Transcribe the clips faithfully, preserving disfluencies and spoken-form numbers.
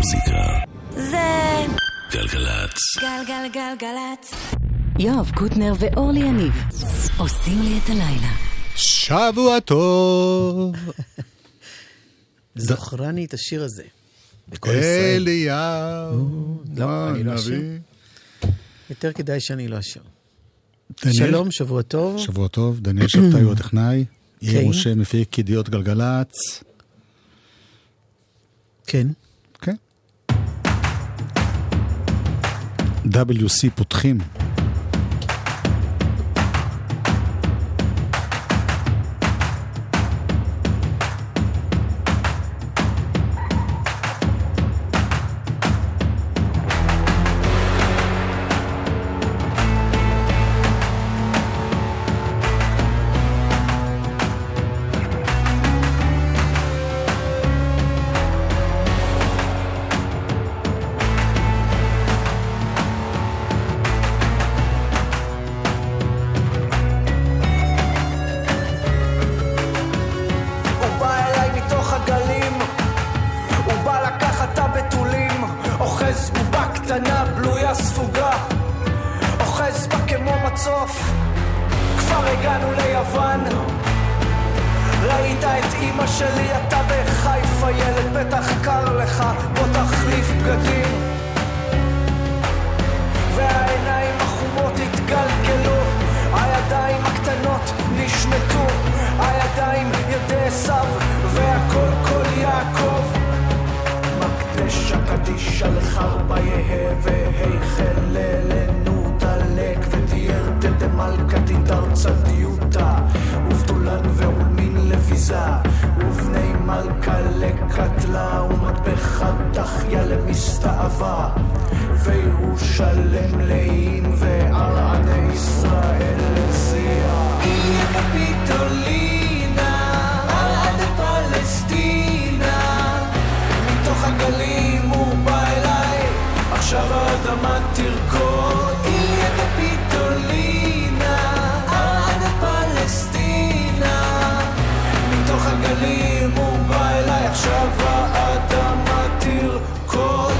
המוזיקה זה גלגלצ. גלגלגלגלצ. יואב קוטנר ואורלי יניב עושים לי את הלילה. שבוע טוב. זוכרני את השיר הזה. בכל ישראל. אליהו. לא, אני לא אשיר. נביא. יותר כדאי שאני לא אשיר. דניאל- שלום, שבוע טוב. שבוע טוב, דניאל שבתאי הוא הטכנאי. יאיר כן. משה מפיק ידיעות גלגלצ. כן. כן. דאבליו סי פותחים. הוא בא אליי מתוך הגלים, הוא בא לקחת את הבתולים, אוחז בובה קטנה בלויה ספוגה, אוחז בה כמו מצוף. כבר הגענו ליוון, ראית את אמא שלי, אתה בחיפה ילד, בטח קר לך, בוא תחליף בגדים. והעיניים החומות התגלגלו, הידיים הקטנות נשמטו, הידיים ידי עשיו, והכל כל יעקב. מקדשה קדישה לחרבה יהא, והיכל לנו דלק, ודייר דמלכה תידר צדיותה, ובדולן ועולמין לביזה, ובני מלכה לקטלה, ומטבחה דחיה למסתאבה, וירושלם לעין, וערעני ישראל לזיע. איליה קפיטולינה, ערעד פלסטינה, מתוך הגלים הוא בא אליי, עכשיו האדמה תרקוד. איליה קפיטולינה, ערעד פלסטינה, מתוך הגלים הוא בא אליי, עכשיו האדמה תרקוד.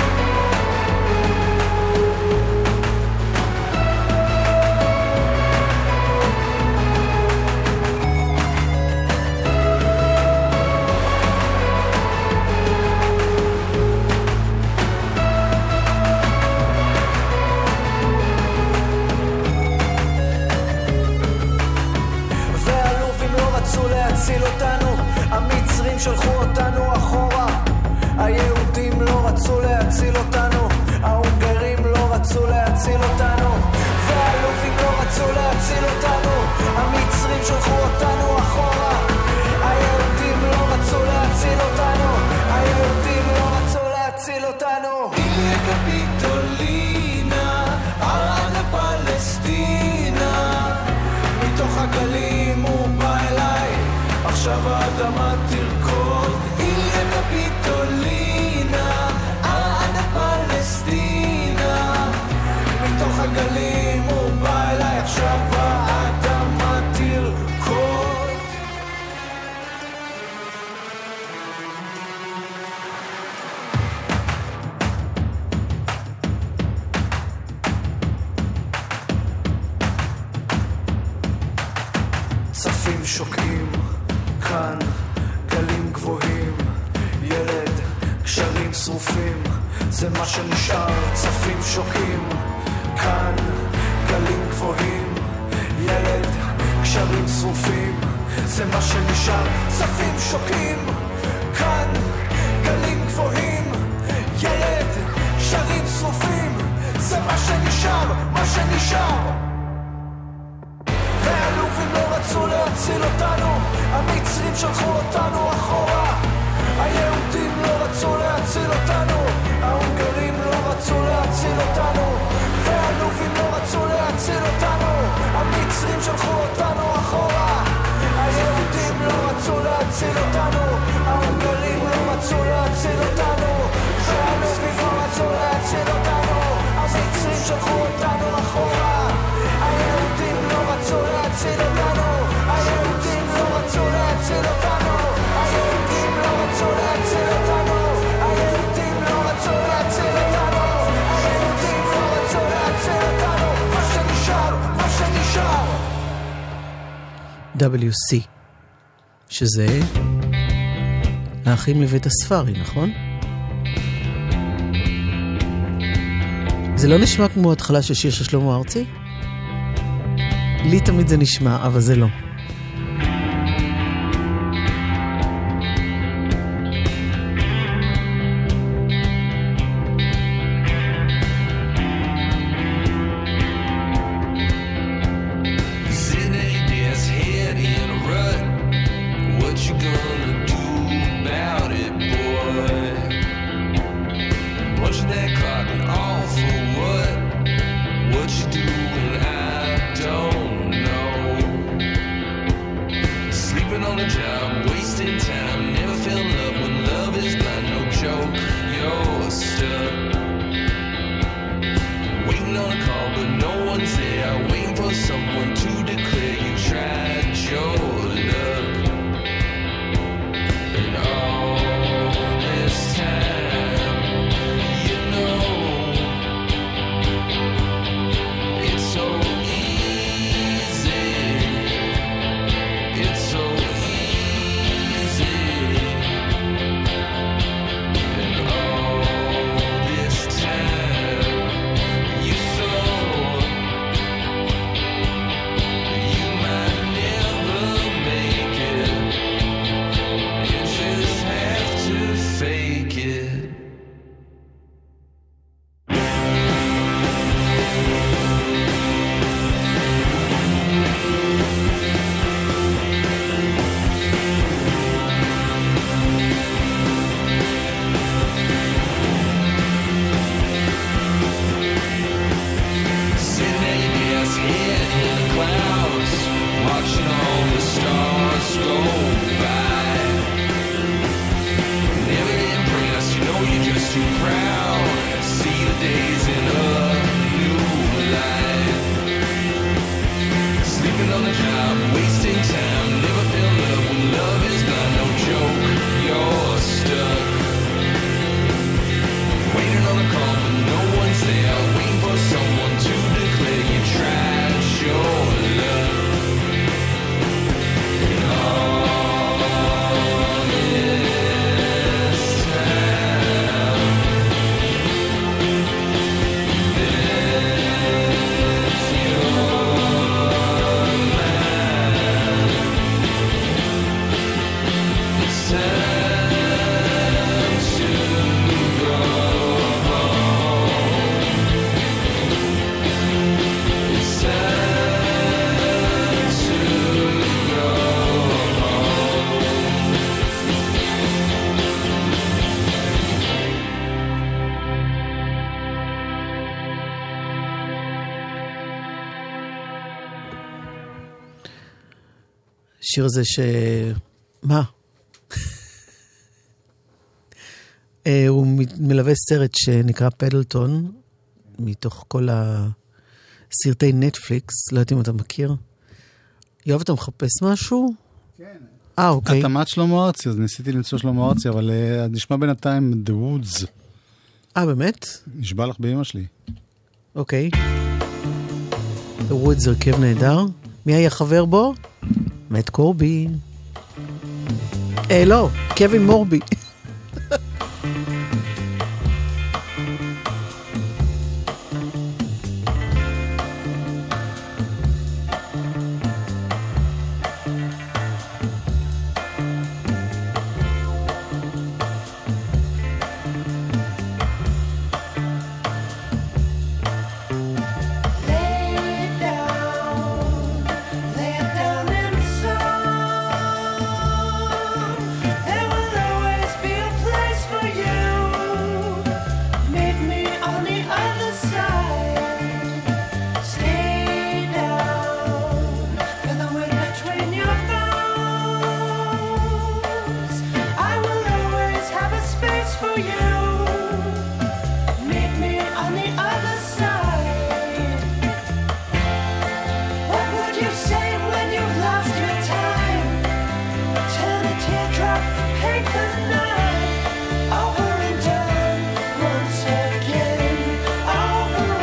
והלובים לא רצו להציל אותנו, המצרים שלחו אותנו אחורה, היהודים לא רצו להציל אותנו, ההונגרים לא רצו להציל אותנו, והלובים לא רצו להציל אותנו, המצרים שלחו אותנו אחורה, היהודים לא רצו להציל אותנו, היהודים לא רצו להציל אותנו. איליה קפיטולינה, ערעד פלסטינה, מתוך הגלים הוא בא אליי, עכשיו האדמה תרקוד. איליה קפיטולינה, ערעד פלסטינה, מתוך הגלים הוא בא אליי, עכשיו האדמה תרקוד. צפים שוקעים, כאן גלים גבוהים, ילד, קשרים שרופים, זה מה שנשאר. צפים שוקעים, כאן גלים גבוהים, ילד, קשרים שרופים, זה מה שנשאר. צפים שוקעים, כאן גלים גבוהים, ילד, קשרים שרופים, זה מה שנשאר, מה שנשאר. והאלופים לא רצו להציל אותנו, המצרים שלחו אותנו אחורה, היהודים לא רצו להציל אותנו, ההונגרים לא רצו להציל אותנו, והאלופים לא רצו להציל אותנו, המצרים שלחו אותנו אחורה, היהודים לא רצו להציל אותנו, ההונגרים לא רצו להציל אותנו, והאלופים לא רצו להציל אותנו, המצרים שלחו אותנו אחורה, היהודים לא רצו להציל אותנו, היהודים לא רצו להציל אותנו, היהודים לא רצו להציל אותנו, היהודים לא דאבליו סי, שזה האחים לבית הספרי, נכון? זה לא נשמע כמו התחלה של שיר של שלמה ארצי? לי תמיד זה נשמע, אבל זה לא. השיר הזה ש... מה? הוא מלווה סרט שנקרא פדלטון, מתוך כל הסרטי נטפליקס, לא יודעת אם אתה מכיר. יואב, אתה מחפש משהו? כן. אה, אוקיי. התאמת שלמה ארצי, אז ניסיתי למצוא שלמה ארצי, אבל uh, נשמע בינתיים The Woods. אה, באמת? נשבע לך באמא שלי. אוקיי. The Woods זה הרכב נהדר. מי היה חבר בו? מאט קורבי. אה, לא, קווין מורבי.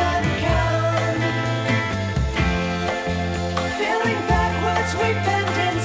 Feeling backwards, we bend in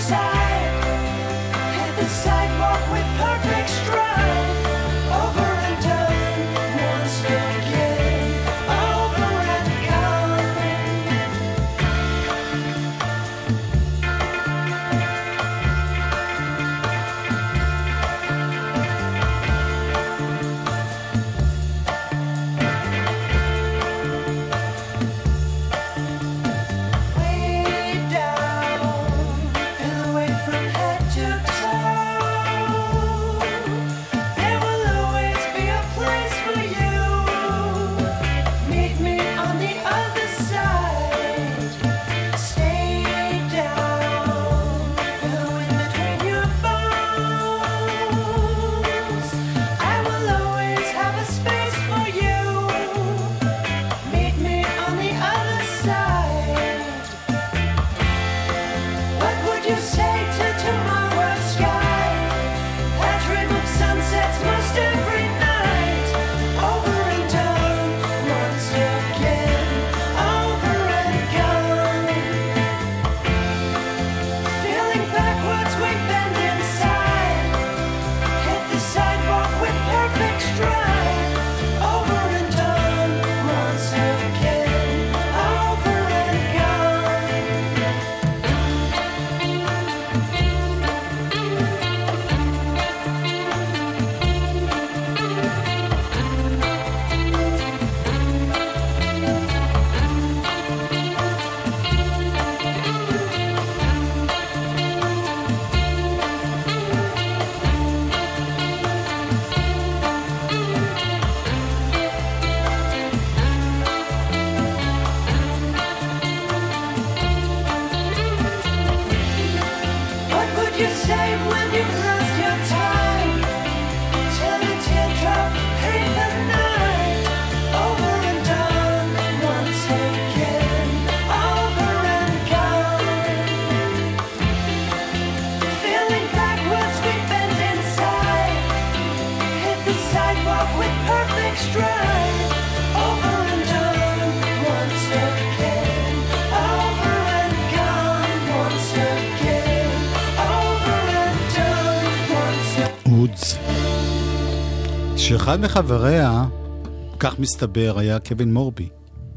the sidewalk with perfect stride. Over and done once again. Over and gone once again. Over and done once again. וודס. שאחד מחבריה, כך מסתבר, היה קווין מורבי.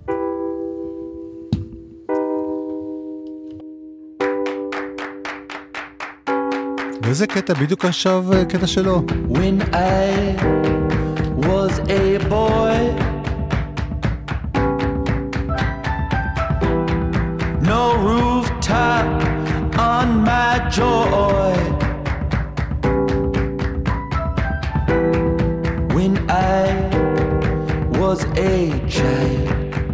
וזה קטע בדיוק עכשיו, קטע שלו. When I was a boy, no rooftop on my joy. When I was a child,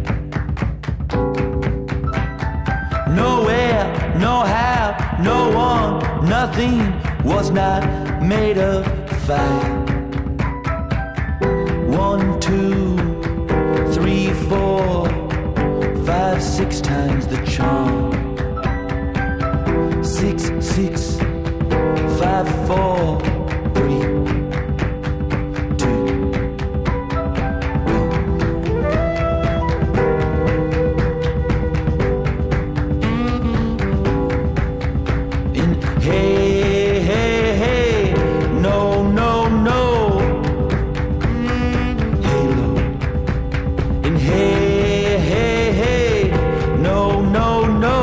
nowhere, no how, no one, nothing was not made of fire. One, two, three, four, five, six times the charm. Six, six, five, four, three, two, one. In hey, hey, hey, no, no, no. Halo. In hey, hey, hey, no, no, no.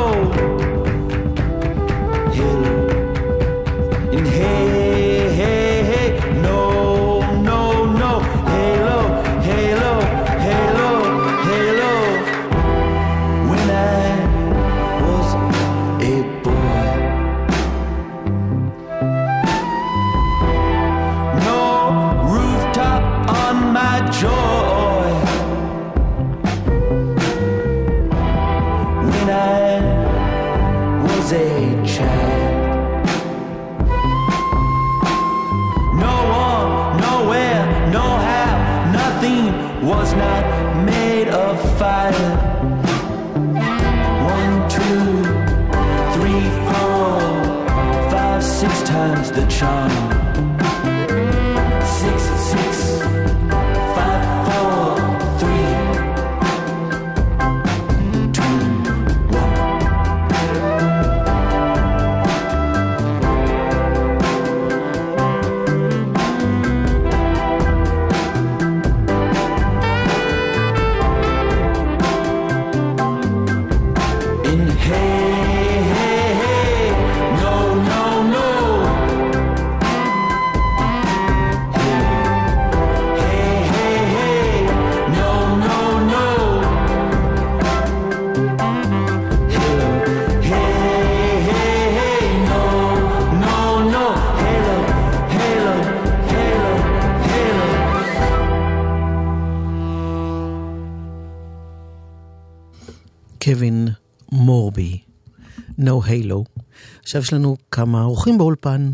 Halo. In hey, hey, hey, no, no, no. Halo, halo, halo, halo. When I was a boy, no rooftop on my joy. When I was a child, no one, nowhere, no how, nothing was not made of fire. One, two, three, four, five, six times the charm. Six, six, five, four, three, two, one. In hey, hey, hey, no, no, no. Hey, hey, hey, no, no, no. Hello, hey, hey, hey, no, no, no. Hello, hello, hello, hello. קווין מורבי, No Halo. עכשיו יש לנו כמה אורחים באולפן.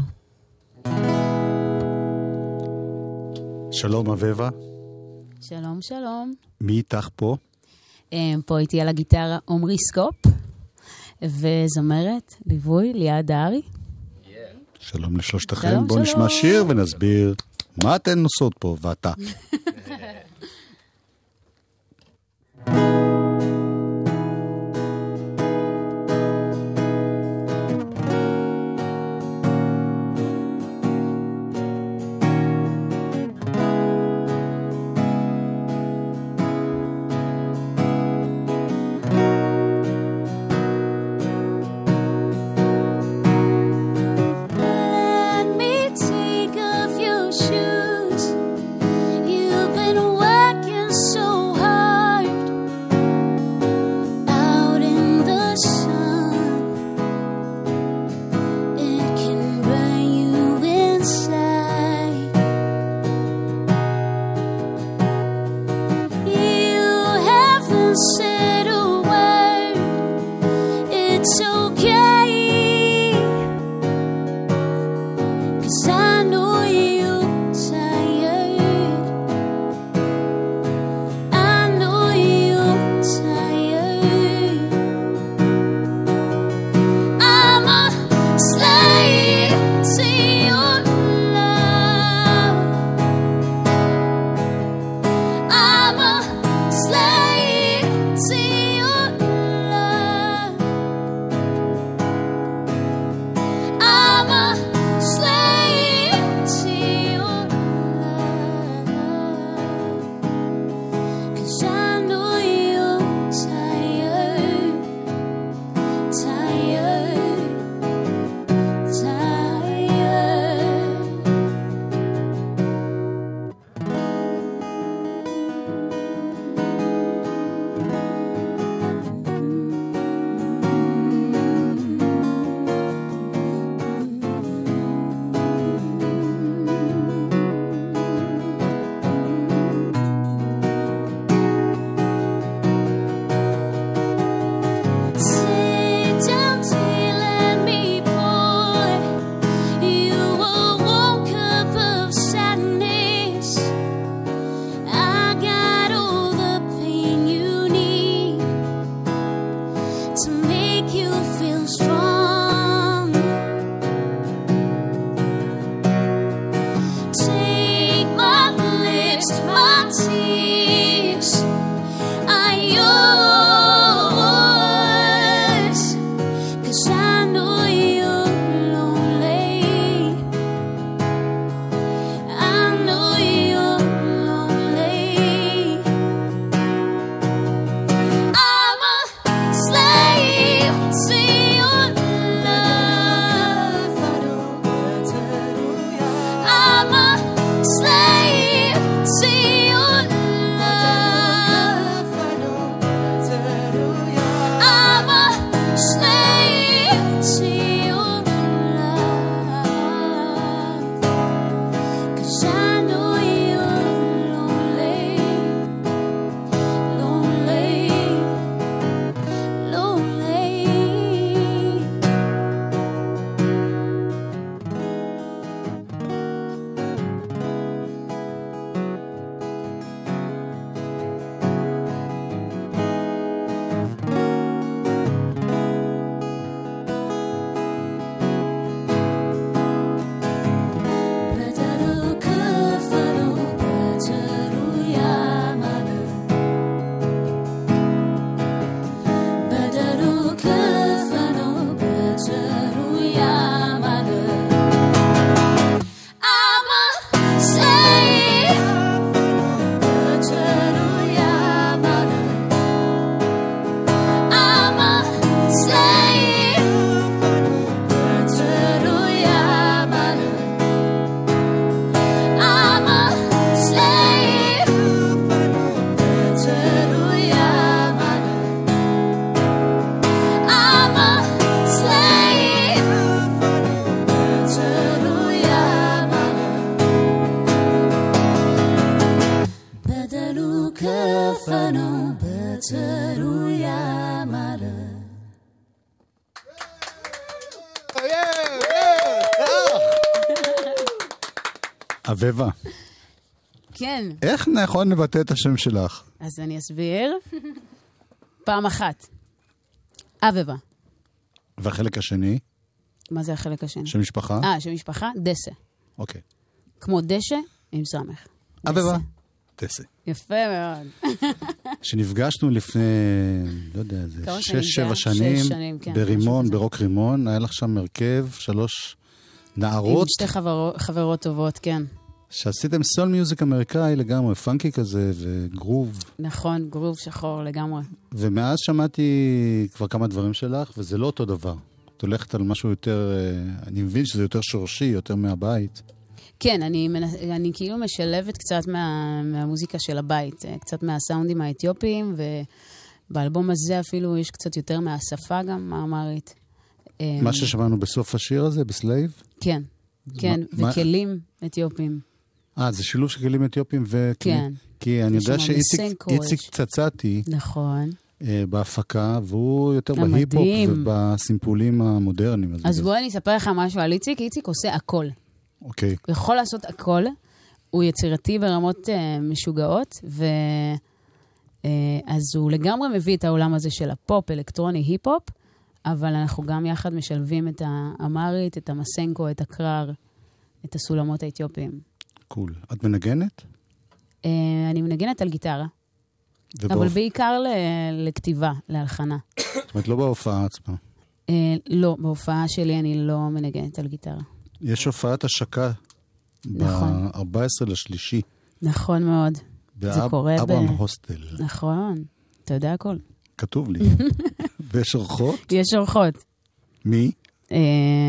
שלום אביבה, שלום, שלום. מי איתך פה? אמ, פה איתי על הגיטרה עומרי סקופ, וזמרת, ליווי, ליעד דהרי. שלום לשלושתכם, שלום, בואו שלום. נשמע שיר ונסביר מה אתן עושות פה, ואתה. Let me take off your shoes. You כפנו בתרויה מלא. אביבה, כן, איך נכון לבטא את השם שלך? אז אני אסביר. פעם אחת. אביבה. והחלק השני? מה זה החלק השני? שם משפחה? אה, שם משפחה? דסה. אוקיי. כמו דשא עם סמך. אביבה, דסה. יפה מאוד. שנפגשנו לפני, לא יודע, זה כמה שנים שש, זה? שבע שש שנים, שנים, כן, משהו ברימון, כזה. ברוק רימון, היה לך שם הרכב, שלוש עם נערות, שתי חברו- חברות טובות, כן. שעשיתם סול מיוזיק אמריקאי לגמרי, פאנקי כזה, וגרוב. נכון, גרוב שחור לגמרי. ומאז שמעתי כבר כמה דברים שלך, וזה לא אותו דבר. את הולכת על משהו יותר, אה, אני מבין שזה יותר שורשי, יותר מהבית. כן, אני, מנ- אני כאילו משלבת קצת מה, מהמוזיקה של הבית, אה, קצת מהסאונדים האתיופיים, ובאלבום הזה אפילו יש קצת יותר מהשפה גם, האמרית. אה, מה ששמענו בסוף השיר הזה, בסלייב? כן, כן, מה- וכלים אתיופיים. אה, זה שילוב של כלים אתיופיים וכלים. כן. כי אני יש יודע שם שאיציק מסנקו, איציק יש- צצתי נכון. אה, בהפקה, והוא יותר אה, בהיפ-הופ מדהים. ובסימפולים המודרניים. אז בגלל- בואי אני אספר לך משהו על איציק. איציק עושה הכל. אוקיי. הוא יכול לעשות הכל. הוא יצירתי ברמות uh, משוגעות, ו... uh, אז הוא לגמרי מביא את העולם הזה של הפופ, אלקטרוני, היפ-הופ, אבל אנחנו גם יחד משלבים את האמרית, את המסנקו, את הקרר, את הסולמות האתיופיים. קול. את מנגנת? Uh, אני מנגנת על גיטרה, אבל ובאופ- בעיקר ל- לכתיבה, להלחנה. זאת אומרת, לא בהופעה עצמה. Uh, לא, בהופעה שלי אני לא מנגנת על גיטרה. יש הופעת השקה נכון. ב-ארבעה עשר לשלישי. נכון מאוד. זה קורה ב... באברהם הוסטל. נכון, אתה יודע הכל. כתוב לי. ויש אורחות? יש אורחות. מי? אה,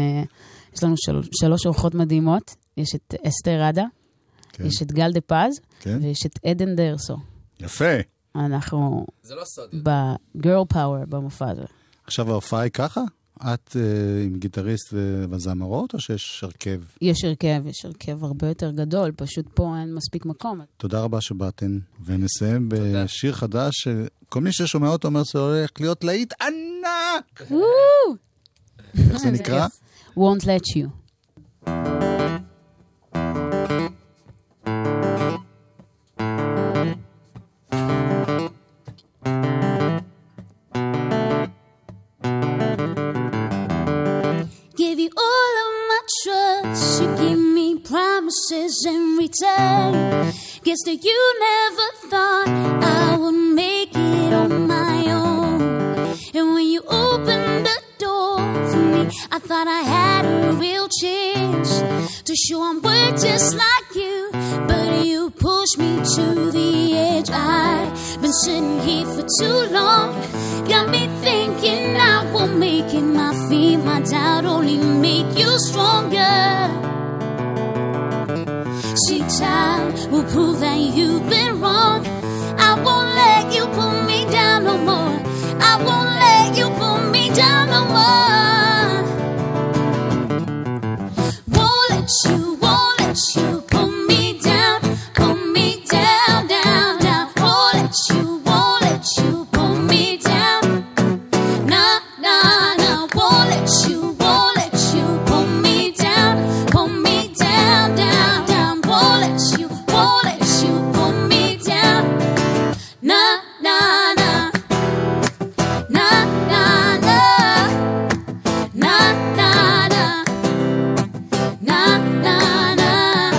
יש לנו של... שלוש אורחות מדהימות. יש את אסתר רדה, כן. יש את גל דה פז, כן. ויש את עדן דרסו. יפה. אנחנו זה לא סוד. בגרל פאוור במופע הזה. עכשיו ההופעה היא ככה? את uh, עם גיטריסט ו- וזמרות, או שיש הרכב? יש הרכב, יש הרכב הרבה יותר גדול, פשוט פה אין מספיק מקום. תודה רבה שבאתן, ונסיים בשיר חדש, שכל מי ששומע אותו אומר שזה הולך להיות להיט ענק! איך זה נקרא? Won't let you. Give you all of my trust. You give me promises in return. Guess that you never thought I would make it on my own. And when you opened the door for me, I thought I had a real chance to show I'm worth just like you. But you pushed me to the edge. I've been sitting here for too long. Got me thinking I won't make it. My feet, my doubt only make you stronger. See, time will prove that you've been wrong. I won't let you pull me down no more. I won't let you pull me down no more. Won't let you, won't let you pull me down, pull me down, down, down. Won't let you, won't let you pull me down. Nah, nah, nah. Won't let you, won't let you pull me down, pull me down, down, down. Won't let you, won't let you pull me down. Nah, nah, nah. Nah, nah, nah. Nah, nah, nah. Nah, nah, nah.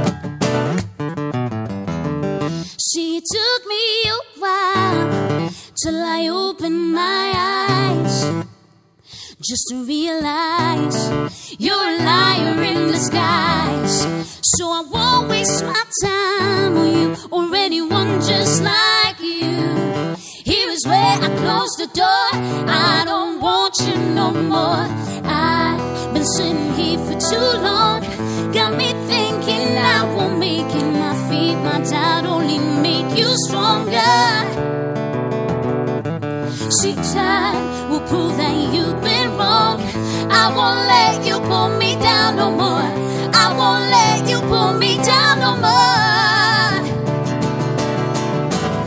See, it took me a while till I opened my eyes, just to realize you're a liar in disguise. So I won't waste my time on you or anyone just like you. Here is where I close the door. I don't want you no more. I've been sitting here for too long. Got me thinking I won't make it. My feet, my doubt only make you stronger. See, time will prove that you've been wrong. I won't let you pull me down no more. I won't let you pull me down no more.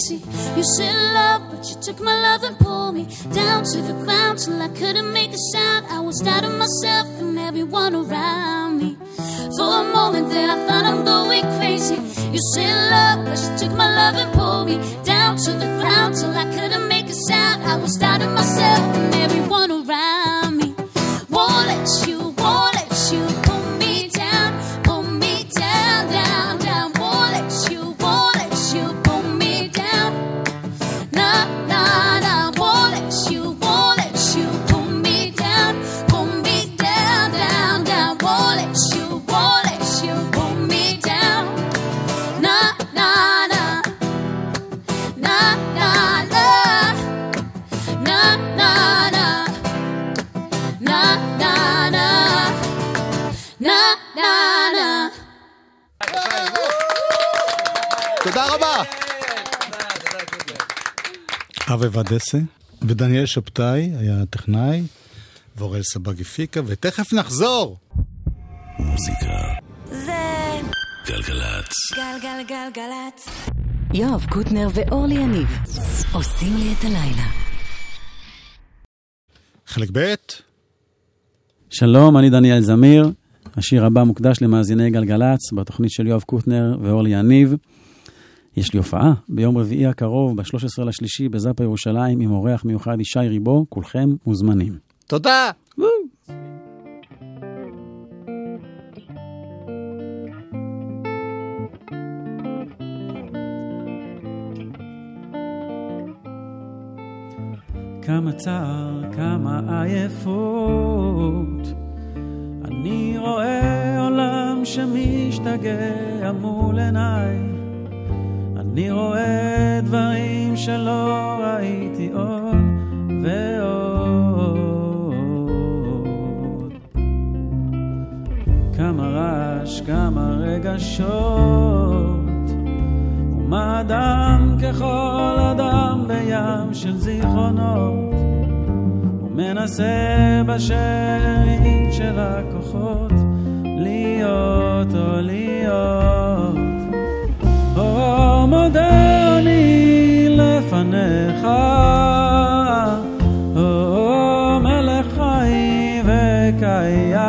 crazy. You said love, but you took my love and pulled me down to the ground till I couldn't make a sound. I was out of myself and everyone around me. For a moment there I thought I'm going crazy. You said love, but you took my love and pulled me down to the ground till I couldn't make a sound. I was out of myself and everyone around me. Won't let you, won't let you pull me down, pull me down, down, down. Won't let you, won't let you pull me down. Nah, nah, nah. Won't let you, won't let you pull me down, pull me down, down, down. Won't let you, won't let you pull me down. Nah, nah, nah. Nah, nah, nah. Nah, nah, nah. Nah, nah, nah. Nah, nah, nah. תודה רבה. אבי ודסה ודניאל שבתאי היה טכנאי, ואורל סבג הפיקה, ותכף נחזור. מוזיקה זה גלגלצ. גלגלגלגלצ. יואב קוטנר ואורלי יניב עושים לי את הלילה. חלק ב'. שלום, אני דניאל זמיר. השיר הבא מוקדש למאזיני גלגלצ בתוכנית של יואב קוטנר ואורלי יניב. יש לי הופעה ביום רביעי הקרוב, ב-שלושה עשר לשלישי בזאפה ירושלים, עם אורח מיוחד ישי ריבו. כולכם מוזמנים. תודה. כמה צער, כמה עייפות, אני רואה עולם שמשתגע מול עיניי, אני רואה דברים שלא ראיתי עוד ועוד. כמה רעש, כמה רגשות, ומה אדם ככל אדם בים של זיכרונות, ומנסה בשארית של הכוחות להיות או להיות. או מודה אני לפניך, או מלך חי וקיים,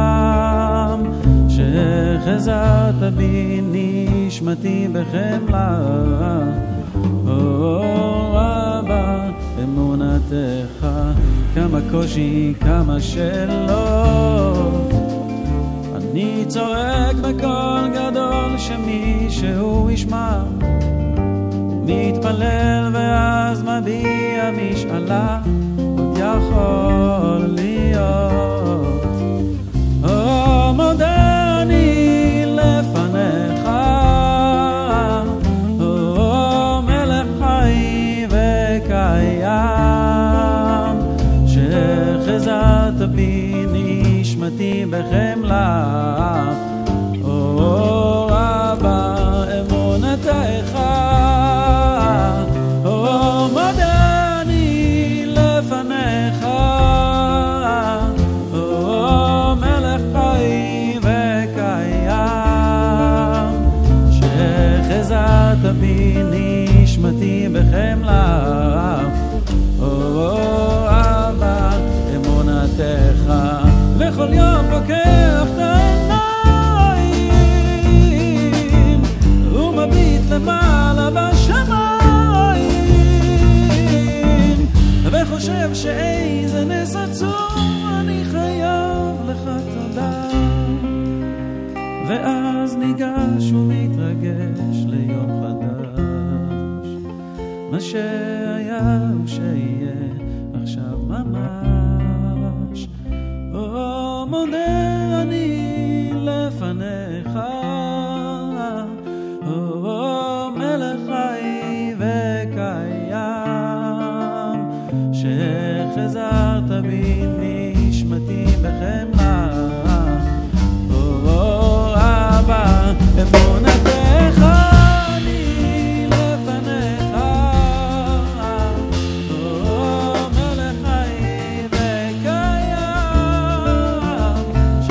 שחזרת בי נשמתי בחמלה, או רבה אמונתך. כמה קושי, כמה שאלות, אני צועק בקול גדול שמישהו ישמע, מתפלל ואז מביע משאלה, עוד יכול להיות. או מודה אני לפניך, או מלך חי וקיים, שחזרת בי נשמתי בחמלה, או רבה אמונתך. או מודה אני לפניך, או מלך חי וקיים, שחזרת בי נשמתי בחמלה, או רבה אמונתך. וכל יום פוקח את העיניים ומביט למעלה בשמיים, וחושב שאיזה נס עצום אני חייב לך תודה. ואז ניגש ומתרגש ליום חדש, מה שהיה ושיהיה עכשיו ממש. או מודה אני לפניך, או מלך חי וקיים, שחזרת בי נשמתי בחמלה, או אבא אמונתך. אני לפניך, או מלך חי וקיים,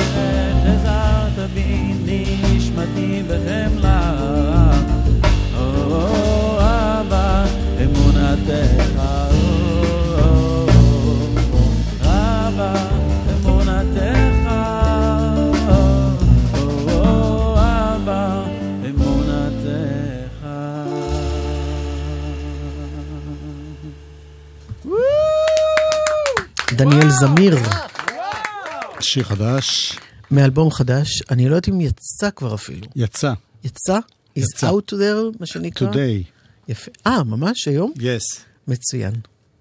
זמיר. שיר חדש. מאלבום חדש, אני לא יודעת אם יצא כבר אפילו. יצא. יצא? יצא. Is out there, מה שנקרא? Today. יפה. אה, ממש היום? Yes. מצוין.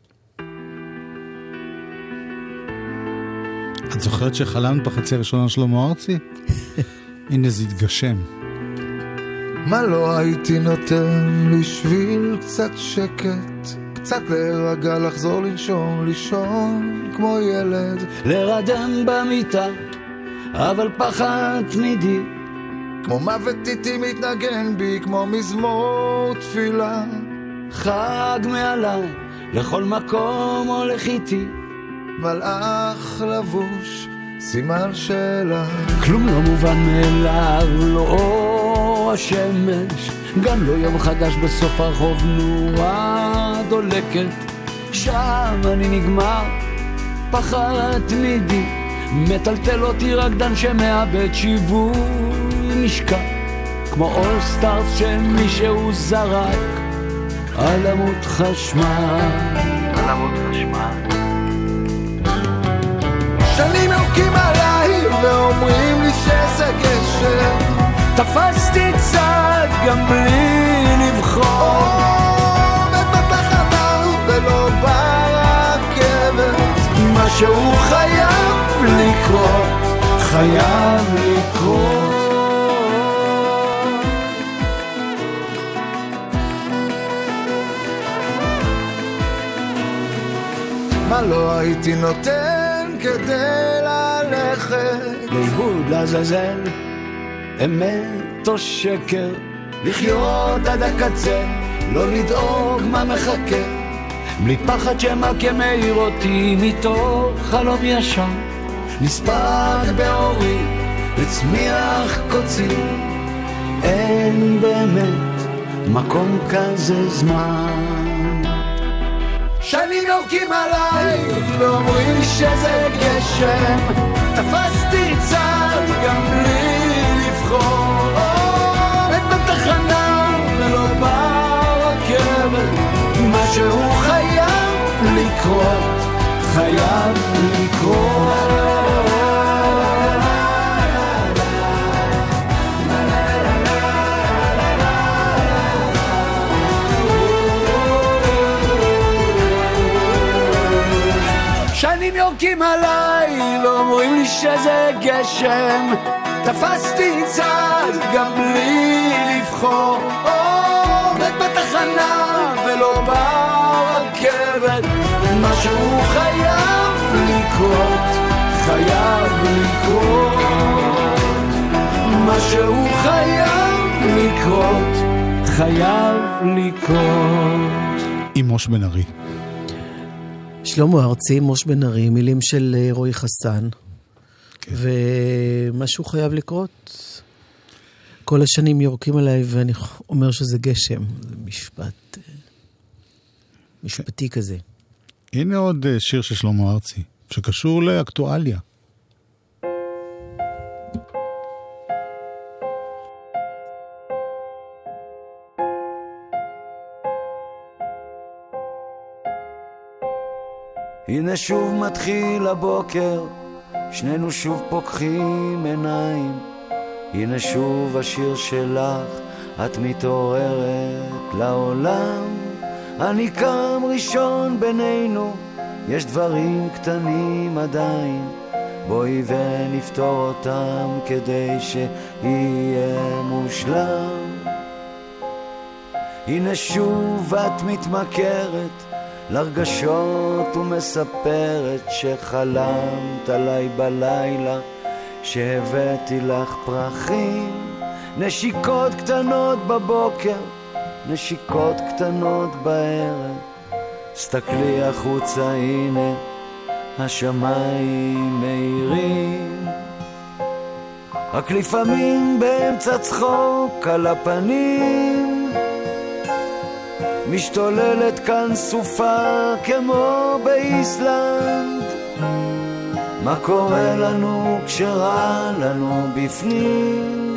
את זוכרת שחלמת בחצי הראשונה שלמה ארצי? הנה זה התגשם. מה לא הייתי נותן בשביל קצת שקט, קצת להירגע, לחזור לנשום, לישון כמו ילד, לרדם במיטה, אבל פחד תמידי, כמו מוות איתי מתנגן בי, כמו מזמור תפילה, חג מעליי, לכל מקום הולך איתי, מלאך לבוש, סימן שאלה, כלום לא מובן מאליו, לא אור השמש, גם לא יום חדש בסוף הרחוב, נורה דולקת, שם אני נגמר, פחד תמידי, מטלטל אותי רקדן שמאבד שיווי משקע, כמו אול סטארס שמישהו זרק על עמוד חשמל, על עמוד חשמל. שנים יורקים עליי ואומרים לי שזה גשם, תפסתי צד גם בלי לבחור, עומד בתחנה ולא ברכבת, משהו חייב לקרות, חייב לקרות. מה לא הייתי נותן כדי ללכת, לאיבוד לעזאזל, אמת או שקר, לחיות עד הקצה, לא לדאוג מה מחכה, בלי פחד שמכה מאיר אותי מתוך חלום ישר, נספק באורי וצמיח קוצי, אין באמת מקום כזה זמן. שנים יורקים עליי ואומרים לי שזה גשם, תפסתי צד גם בלי לבחור, עומד בתחנה ולא ברכבת, משהו חייב לקרות, חייב לקרות. שנים יורקים עליי, לא אומרים לי שזה גשם, תפסתי צד גם בלי לבחור, עומד בתחנה ולא ברכבת, משהו חייב לקרות, חייב לקרות, משהו חייב לקרות, חייב לקרות. עם מוש בן ארי. שלמה ארצי, מוש בן ארי, מילים של רועי חסן, כן. ומשהו חייב לקרות. כל השנים יורקים עליי ואני אומר שזה גשם, זה משפט, משפטי כזה. הנה עוד שיר של שלמה ארצי, שקשור לאקטואליה. הנה שוב מתחיל הבוקר, שנינו שוב פוקחים עיניים, הנה שוב השיר שלך, את מתעוררת לעולם, אני קם ראשון בינינו, יש דברים קטנים עדיין, בואי ונפתור אותם כדי שיהיה מושלם. הנה שוב את מתמכרת לרגשות ומספרת שחלמת עליי בלילה, שהבאתי לך פרחים, נשיקות קטנות בבוקר, נשיקות קטנות בערב, סתכלי החוצה, הנה השמיים מאירים, רק לפעמים באמצע צחוק על הפנים, משתוללת כאן סופה כמו באיסלנד, מה קורה לנו כשרע לנו בפנים,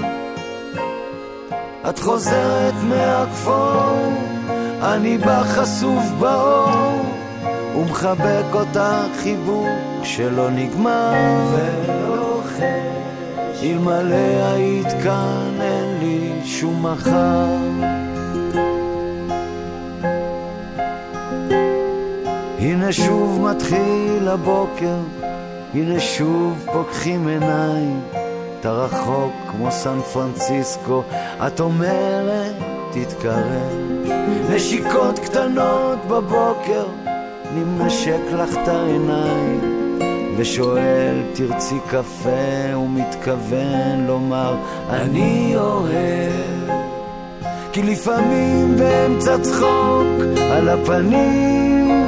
את חוזרת מהכפור, אני בחשוף באור, ומחבק אותה חיבוק שלא נגמר ולא חש, אלמלא היית כאן אין לי שום מחר. הנה שוב מתחיל הבוקר, הנה שוב פוקחים עיניים, אתה רחוק כמו סן פרנסיסקו, את אומרת תתקרב, נשיקות קטנות בבוקר, נמשק לך את העיניים, ושואל תרצי קפה, ומתכוון לומר אני אוהב, כי לפעמים באמצע צחוק על הפנים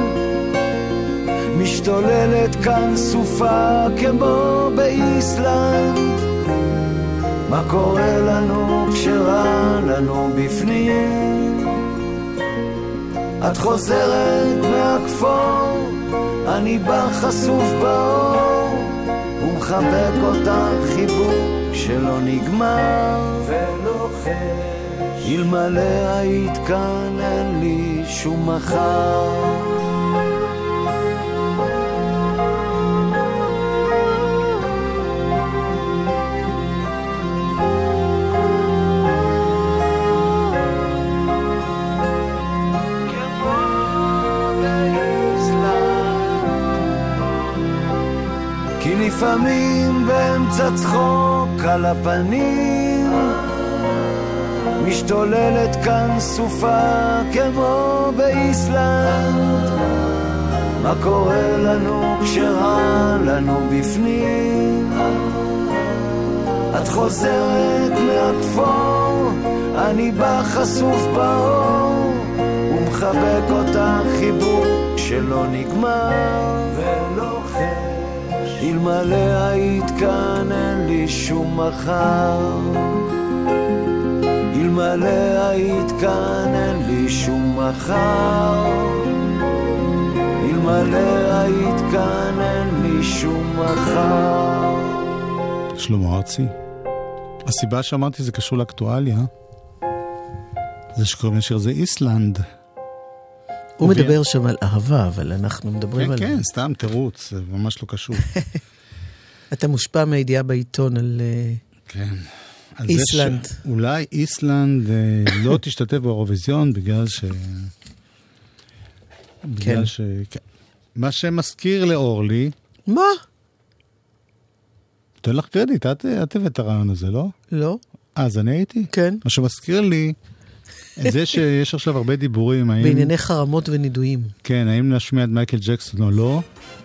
משתוללת כאן סופה כמו באיסלנד. מה קורה לנו כשרע לנו בפנים? את חוזרת מהכפור, אני בא חשוף באור, ומחבק אותך חיבוק שלא נגמר ולא חש, אלמלא היית כאן אין לי שום מחר. לפעמים באמצע צחוק על הפנים משתוללת כאן סופה כמו באיסלנד. מה קורה לנו כשרע לנו בפנים? את חוזרת מהכפור, אני בא חשוף באור, ומחבק אותך חיבוק שלא נגמר ולא חש, אלמלא היית כאן אין לי שום מחר, אלמלא היית כאן אין לי שום מחר, אלמלא היית כאן אין לי שום מחר. שלמה ארצי. הסיבה שאמרתי זה קשור לאקטואליה, זה שקוראים לשיר זה איסלנד. הוא מדבר שם על אהבה, אבל אנחנו מדברים על... כן, כן, סתם תירוץ, זה ממש לא קשור. אתה מושפע מהידיעה בעיתון על איסלנד. אולי איסלנד לא תשתתף באירוויזיון בגלל ש... בגלל ש... מה שמזכיר לאורלי... מה? תן לך קרדיט, את הבאת את הרעיון הזה, לא? לא. אז אני הייתי? כן. מה שמזכיר לי... זה שיש עכשיו הרבה דיבורים, האם... בענייני חרמות ונידויים. כן, האם נשמיע את מייקל ג'קסון או לא.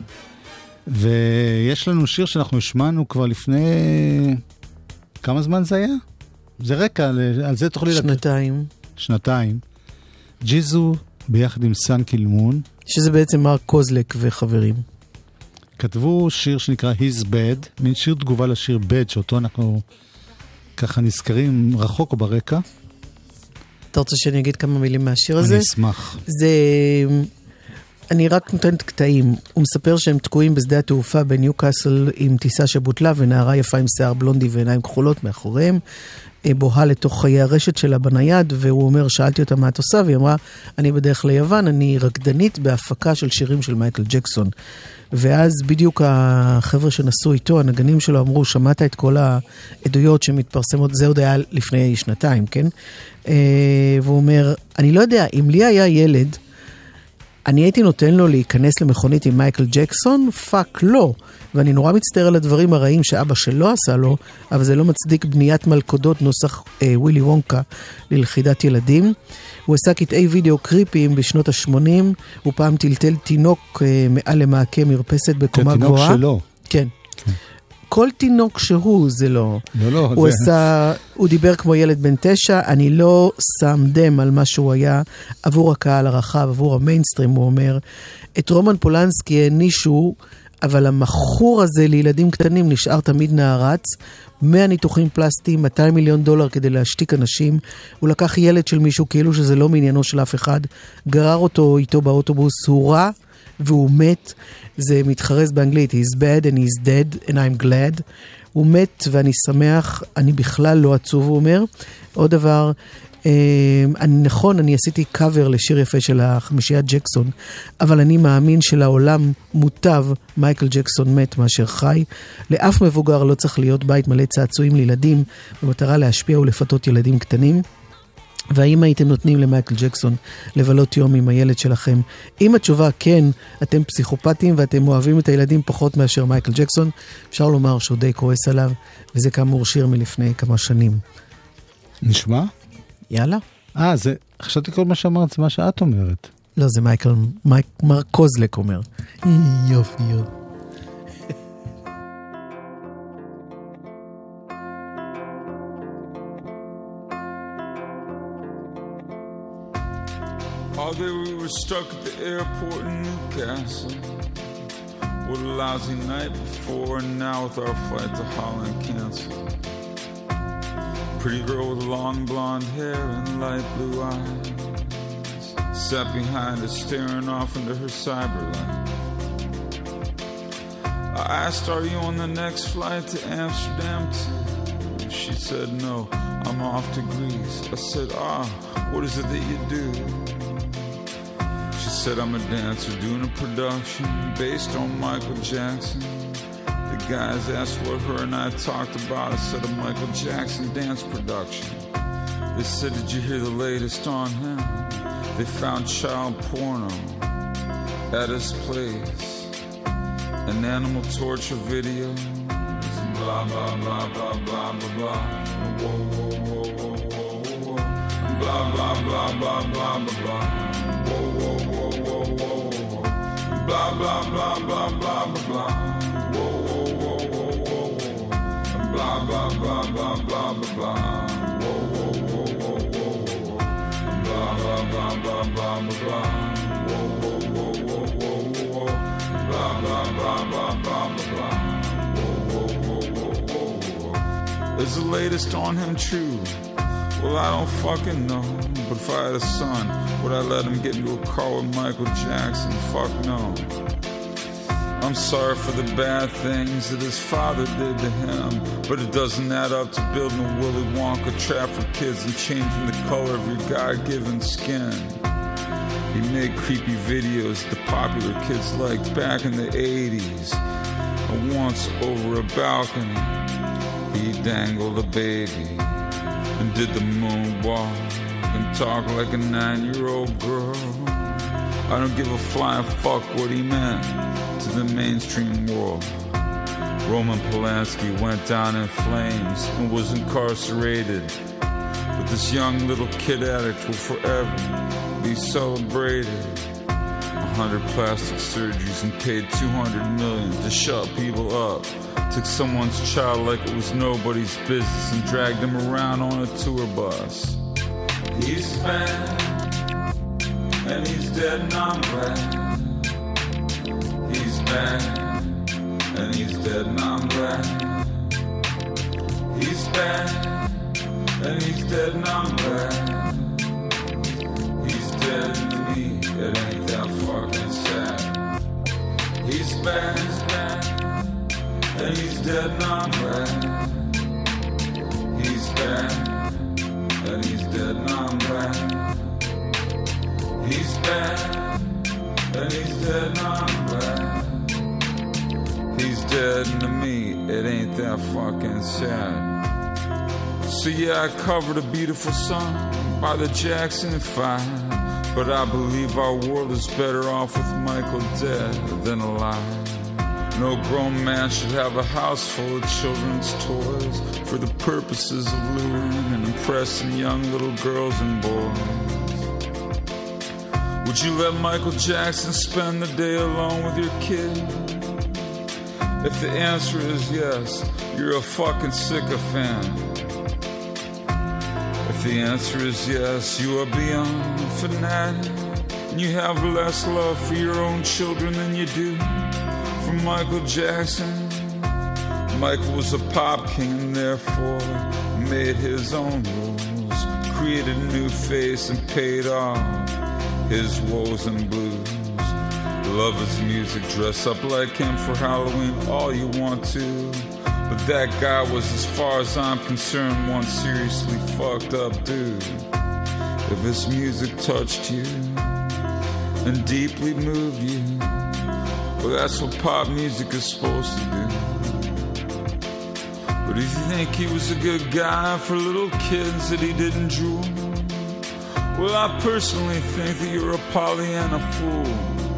ויש לנו שיר שאנחנו השמענו כבר לפני... כמה זמן זה היה? זה רקע, על זה תוכלי... שנתיים. לת... שנתיים. ג'יזו ביחד עם סן קילמון. שזה בעצם מרק קוזלק וחברים. כתבו שיר שנקרא He's Bad, מין שיר תגובה לשיר Bad, שאותו אנחנו ככה נזכרים רחוק או ברקע. אתה רוצה שאני אגיד כמה מילים מהשיר הזה? אני אשמח. זה... אני רק נותנת קטעים. הוא מספר שהם תקועים בשדה התעופה בניו קאסל עם טיסה שבוטלה, ונערה יפה עם שיער בלונדי ועיניים כחולות מאחוריהם, בוהה לתוך חיי הרשת שלה בנייד, והוא אומר, שאלתי אותה מה את עושה, והיא אמרה, אני בדרך ליוון, אני רקדנית בהפקה של שירים של מייקל ג'קסון. ואז בדיוק החבר'ה שנסעו איתו, הנגנים שלו אמרו, שמעת את כל העדויות שמתפרסמות, זה עוד היה לפני שנתיים, כן? והוא אומר, אני לא יודע, אם לי היה ילד, אני הייתי נותן לו להיכנס למכונית עם מייקל ג'קסון? פאק לא. ואני נורא מצטער על הדברים הרעים שאבא שלו עשה לו, אבל זה לא מצדיק בניית מלכודות נוסח אה, ווילי וונקה ללכידת ילדים. הוא עשה קטעי וידאו קריפיים בשנות ה-שמונים, הוא פעם טלטל תינוק אה, מעל למעקה מרפסת בקומה גבוהה. תינוק שלו. כן. כן. כל תינוק שהוא זה לא. לא, לא. הוא זה... עשה, הוא דיבר כמו ילד בן תשע, אני לא שם דם על מה שהוא היה עבור הקהל הרחב, עבור המיינסטרים, הוא אומר. את רומן פולנסקי הענישו, אבל המחור הזה לילדים קטנים נשאר תמיד נערץ, מאה ניתוחים פלסטיים, מאתיים מיליון דולר כדי להשתיק אנשים, הוא לקח ילד של מישהו כאילו שזה לא מעניינו של אף אחד, גרר אותו איתו באוטובוס, הוא רע והוא מת, זה מתחרז באנגלית, he's bad and he's dead and I'm glad, הוא מת ואני שמח, אני בכלל לא עצוב, הוא אומר. עוד דבר, אני, נכון, אני עשיתי קאבר לשיר יפה של החמישיית ג'קסון, אבל אני מאמין שלעולם מוטב מייקל ג'קסון מת מאשר חי. לאף מבוגר לא צריך להיות בית מלא צעצועים לילדים, במטרה להשפיע ולפתות ילדים קטנים. והאם הייתם נותנים למייקל ג'קסון לבלות יום עם הילד שלכם? אם התשובה כן, אתם פסיכופטים ואתם אוהבים את הילדים פחות מאשר מייקל ג'קסון, אפשר לומר שהוא די כועס עליו, וזה כאמור שיר מלפני כמה שנים. נשמע? יאללה. אה, זה, חשבתי כל מה שאמרת, זה מה שאת אומרת. לא, זה מייקל, מייק, מרק קוזלק אומר. יופי, יופי. All day we were stuck at the airport in Newcastle. What a lousy night before, and now with our flight to Holland canceled. Pretty girl with long blonde hair and light blue eyes sat behind us staring off into her cyber life. I asked, are you on the next flight to Amsterdam too? She said, no, I'm off to Greece. I said, ah, what is it that you do? She said, I'm a dancer doing a production based on Michael Jackson. The guys asked what her and I talked about. I said, a Michael Jackson dance production. They said, did you hear the latest on him? They found child porno at his place, an animal torture video. Blah, blah, blah, blah, blah, blah, blah. Whoa, whoa, whoa, whoa, whoa, whoa. Blah, blah, blah, blah, blah, blah, blah. Whoa, whoa, whoa, whoa, whoa, whoa. Blah, blah, blah, blah, blah, blah, blah. Whoa, whoa, whoa, whoa, whoa, whoa. Blah, blah, blah, blah, blah, blah, blah. Whoa, whoa, whoa, whoa, whoa, whoa. Blah, blah, blah, blah, blah, blah, blah. Whoa, whoa, whoa, whoa, whoa, whoa. Blah, blah, blah, blah, blah, blah, blah. Is the latest on him true? Well, I don't fucking know. But if I had a son, would I let him get into a car with Michael Jackson? Fuck no. I'm sorry for the bad things that his father did to him, but it doesn't add up to building a Willy Wonka trap for kids and changing the color of your God-given skin. He made creepy videos the popular kids liked back in the eighties. And once over a balcony, he dangled a baby and did the moonwalk and talked like a nine-year-old girl. I don't give a flying fuck what he meant to the mainstream world. Roman Polanski went down in flames and was incarcerated, but this young little kid addict will forever be celebrated. A hundred plastic surgeries and paid two hundred million to shut people up. Took someone's child like it was nobody's business and dragged him around on a tour bus. He's bad, and he's dead and I'm glad. He's bad, and he's dead and I'm glad. He's bad, and he's dead and I'm glad. He's dead to me, it ain't that fucking sad. He's bad, he's bad, and he's dead and I'm glad. He's bad, and he's dead and I'm glad. He's bad, and he's dead and I'm glad. He's dead and to me, it ain't that fucking sad. So yeah, I covered a beautiful song by the Jackson Five, but I believe our world is better off with Michael dead than alive. No grown man should have a house full of children's toys for the purposes of luring and impressing young little girls and boys. Would you let Michael Jackson spend the day alone with your kid? If the answer is yes, you're a fucking sycophant. If the answer is yes, you are beyond a fanatic, and you have less love for your own children than you do for Michael Jackson. Michael was a pop king and therefore made his own rules, created a new face and paid off his woes and blues. Love his music, dress up like him for Halloween all you want to, but that guy was, as far as I'm concerned, one seriously fucked up dude. if this music touched you and deeply moved you, well, that's what pop music is supposed to do. But if you think he was a good guy for little kids that he didn't drool, well, I personally think that you're a Pollyanna fool.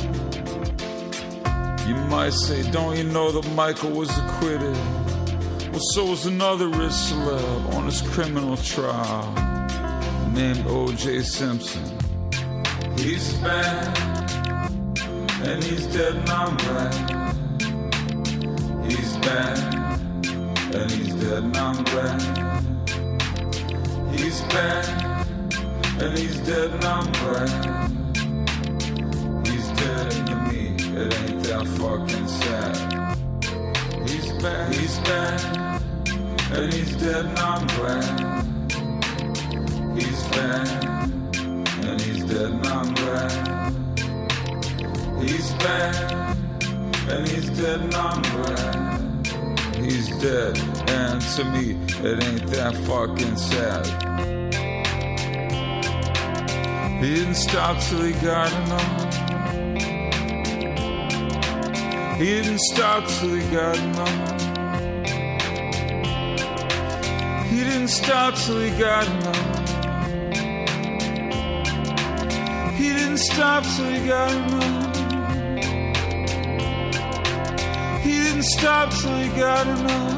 You might say, don't you know that Michael was acquitted? Well, so was another rich celeb on his criminal trial named O J Simpson. He's bad, and he's dead and I'm glad. He's bad, and he's dead and I'm glad. He's bad, and he's dead and I'm glad. He's dead to me, it ain't that fucking sad. He's bad, he's bad, and he's dead and I'm glad. He's bad, and he's dead and I'm glad. He's bad, and he's dead and I'm glad. He's dead, and to me, it ain't that fucking sad. He didn't stop till he got enough. He didn't stop till he got enough. He didn't stop till he got enough. He didn't stop till he got enough. He didn't stop till he got enough.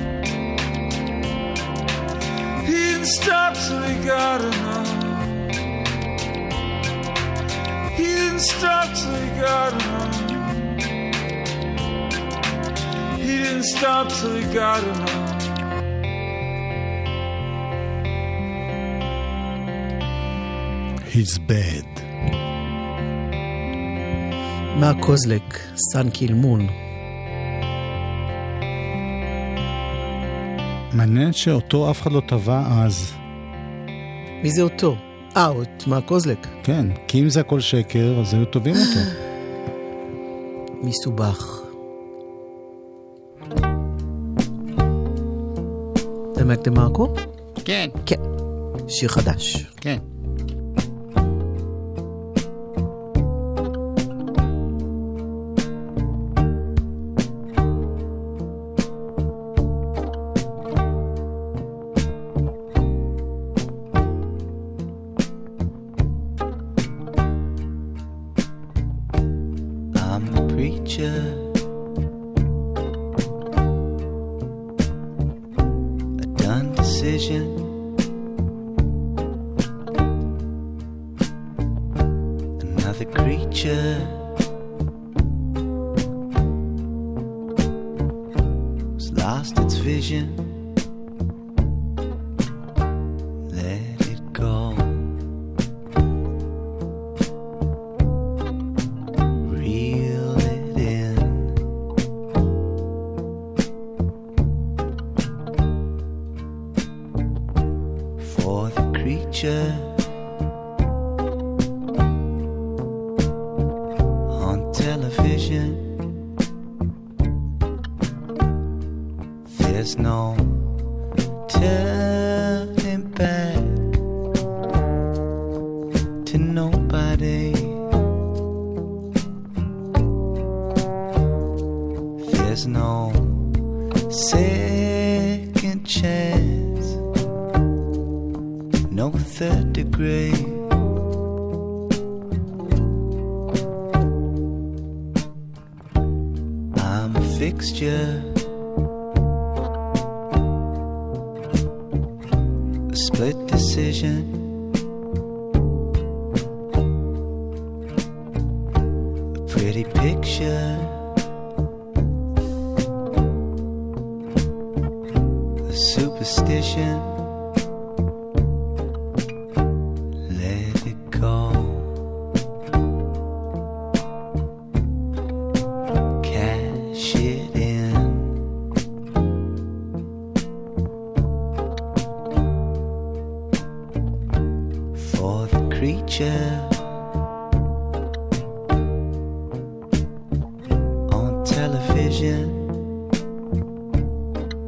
He didn't stop till he got enough. He didn't stop till he got enough. He didn't stop till he got enough. He's bad. מה קוזלק, סן קילמון. מעניין שאותו אף אחד לא טבע אז. מי זה אותו? אה, את מה קוזלק? כן, כי אם זה הכל שקר, אז היו טובים אותו. מסובך. זה מק דה מרקו? כן. כן. שיר חדש. כן.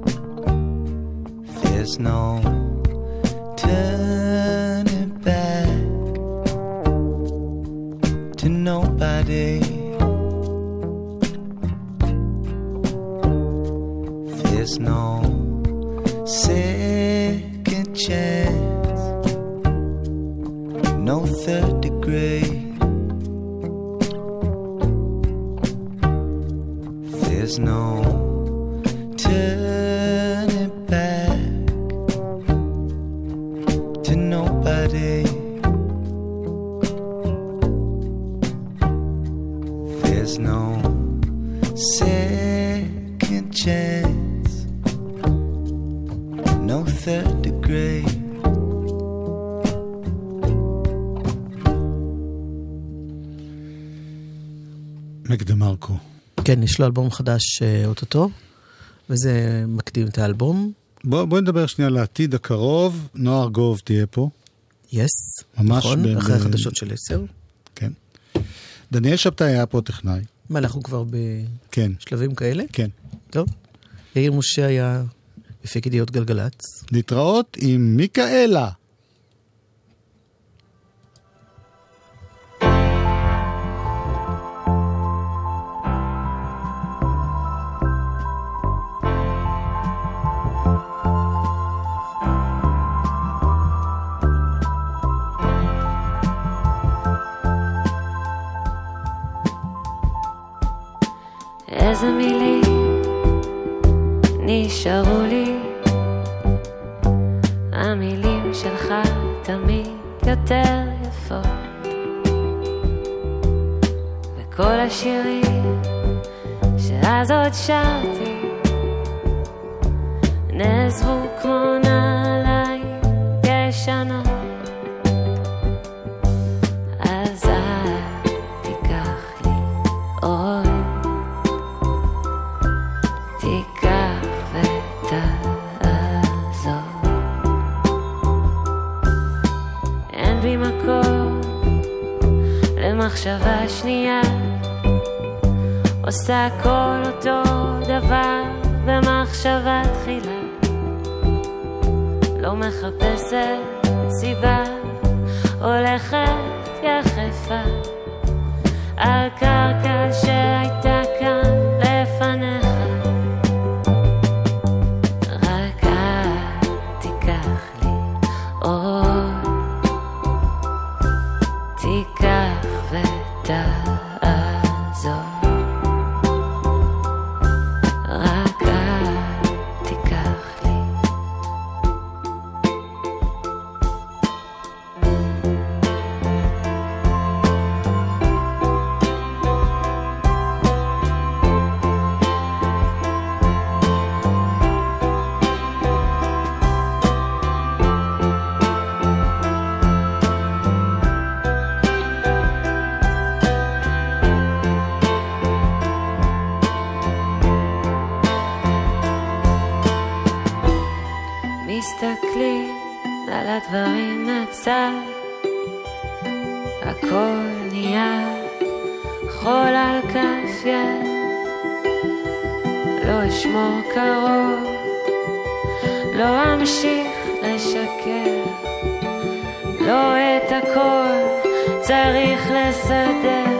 There's no turning back. There's no second chance, no third degree. There's no turning back to nobody. There's no second chance, no third degree. מק דה מרקו. כן, יש לו אלבום חדש אוטוטו, וזה מקדים את האלבום. בוא, בוא נדבר שנייה על העתיד הקרוב. נוער גוב תהיה פה. יס, ממש נכון, ב- אחרי ב- החדשות של עשר. כן. דניאל שבתאי היה פה טכנאי. מה, אנחנו כבר כן. בשלבים כאלה? כן. טוב. יאיר משה היה מפיק ידיעות גלגלצ. להתראות עם מיקאלה. איזה מילים נשארו לי, המילים שלך תמיד יותר יפות, וכל השירים שאז עוד שרתי נעזבו כמו נעליים ישנות. אז אל תיקח לי עוד, תיקח ותעזור. אין בי מקום למחשבה שנייה, עושה כל אותו דבר במחשבה תחילה, לא מחפשת סיבה, הולכת יחפה על קרקע שהייתה כאן לפניך. רק אל תיקח לי עוד, תיקח ותעזור. רק אל תיקח לי. מסתכלים על הדברים מהצד, הכל נהיה חול על כף יד, לא אשמור קרוב, לא אמשיך לשקר, לא את הכל צריך לסדר.